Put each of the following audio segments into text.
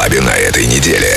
клабе на этой неделе.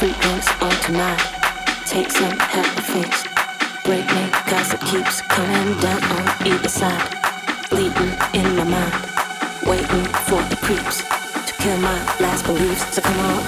Freak drinks on tonight. Take some, have a fix. Break me, cause it keeps coming down on either side. Bleeding in my mind. Waiting for the creeps to kill my last beliefs. So come on,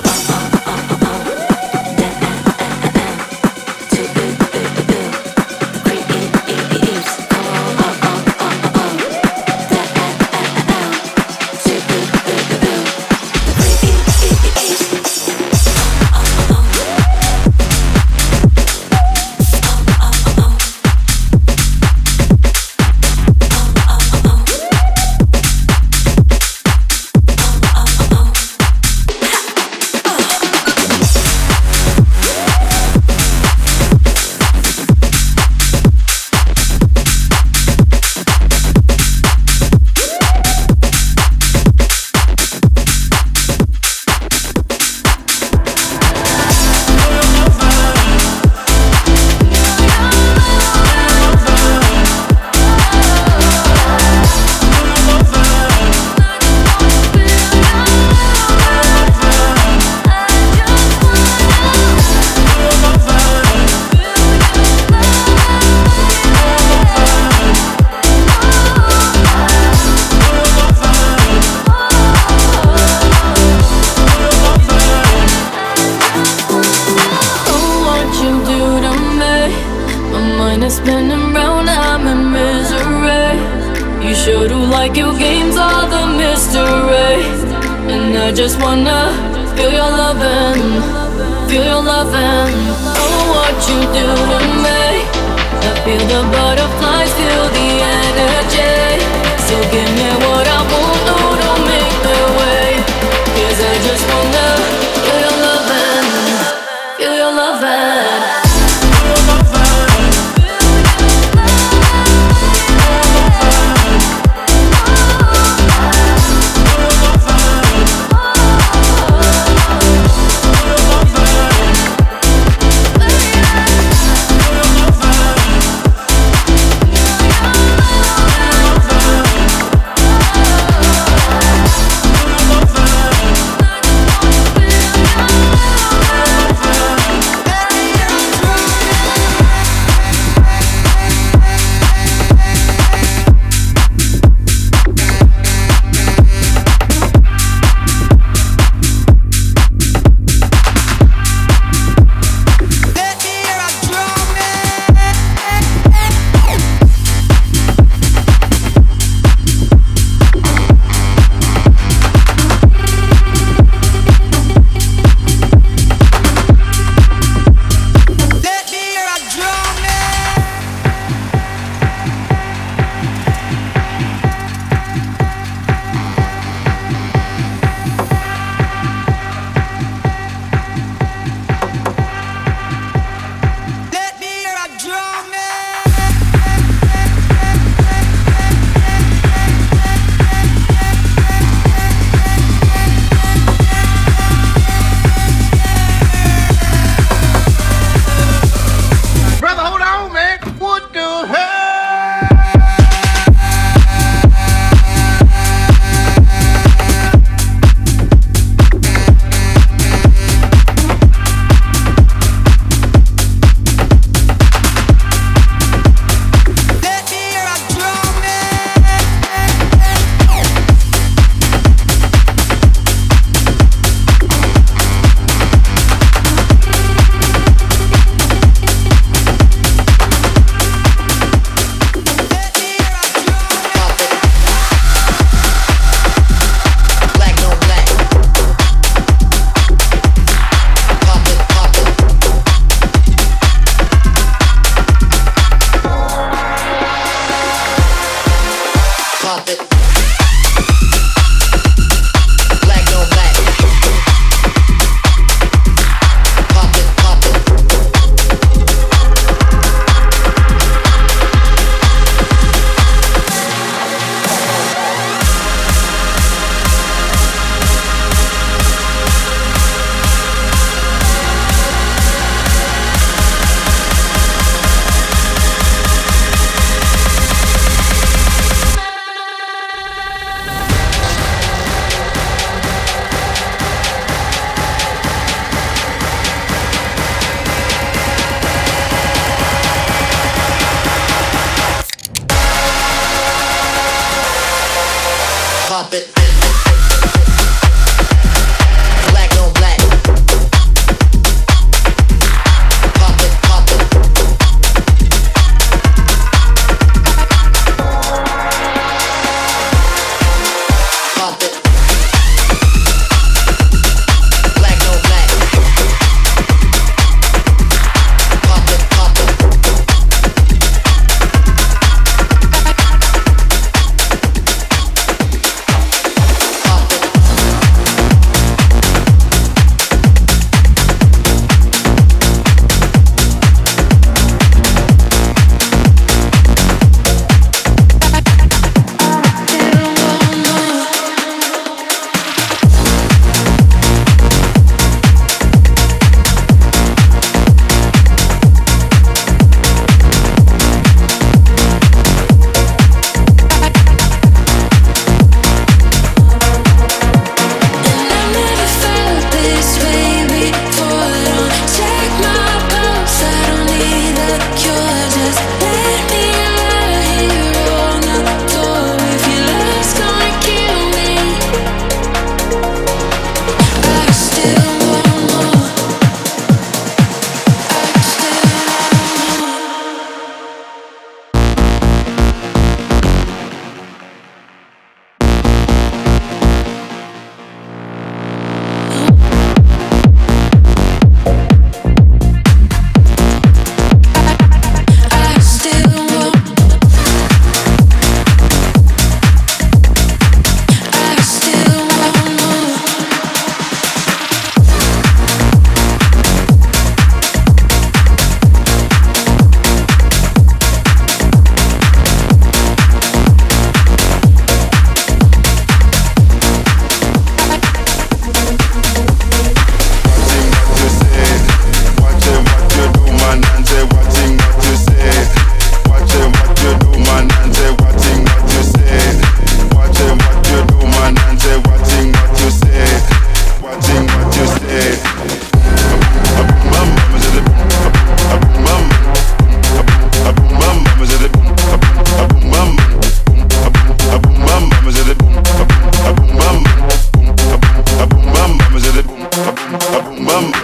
spinning round, I'm in misery. You sure do like your games, all the mystery. And I just wanna feel your loving, feel your loving. Oh, what you do to me. I feel the butterflies, feel the energy. So give me what I want, no, don't make me wait. 'Cause I just wanna feel your loving, feel your loving.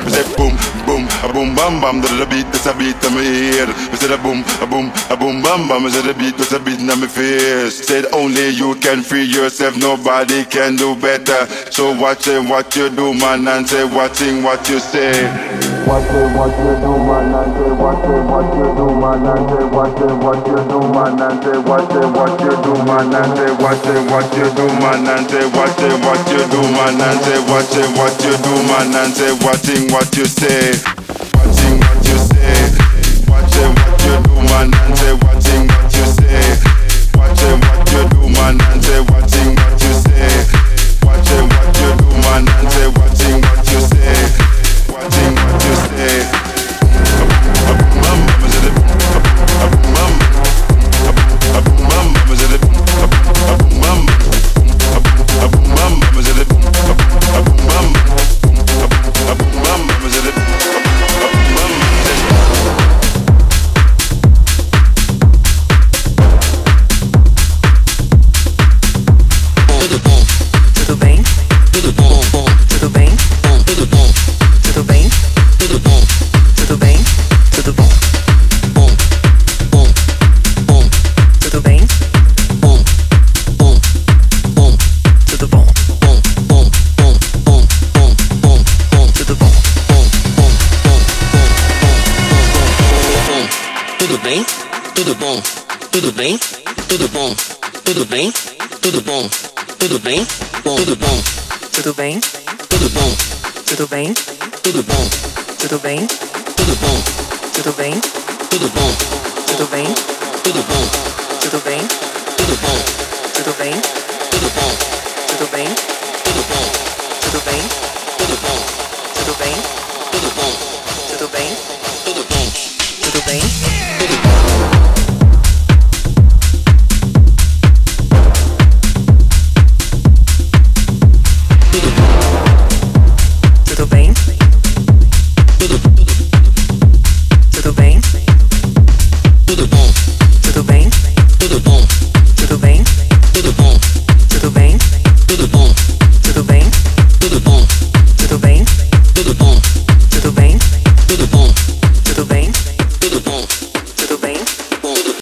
Me say boom, boom, a boom, bam, bam. The beat, that's a beat in my ear. Me say the boom, a boom, a boom, bam, bam. Me say the beat, that's a beat in my face. Said only you can free yourself, nobody can do better. So watch it, what you do, man, and say watching what you say. Watch it, what you do, man, and say watch it, what you do, man, and say watch it, what you do, man, and say watch it, what you do, man, and say watch it, what you do, man, and say watch it, what you do, man, and say watch it, what you do, man, and say watching what you say. Watching what you say. Watch it, what you do, man, and say watching what you say. Watch it, what you do, man, and say watching what you say. Watch it, what you do, man, and say watching what you say. Watching what you say. Tudo bom, tudo bem, tudo bom, tudo bem, tudo bom, tudo bem, bom, tudo bom, tudo bem, tudo bom, tudo bem, tudo bom, tudo bem, tudo bom, tudo bem, tudo bom, tudo bem, tudo bom, tudo bem, tudo bom, tudo bem, tudo bom, tudo bem, tudo bom, tudo bem.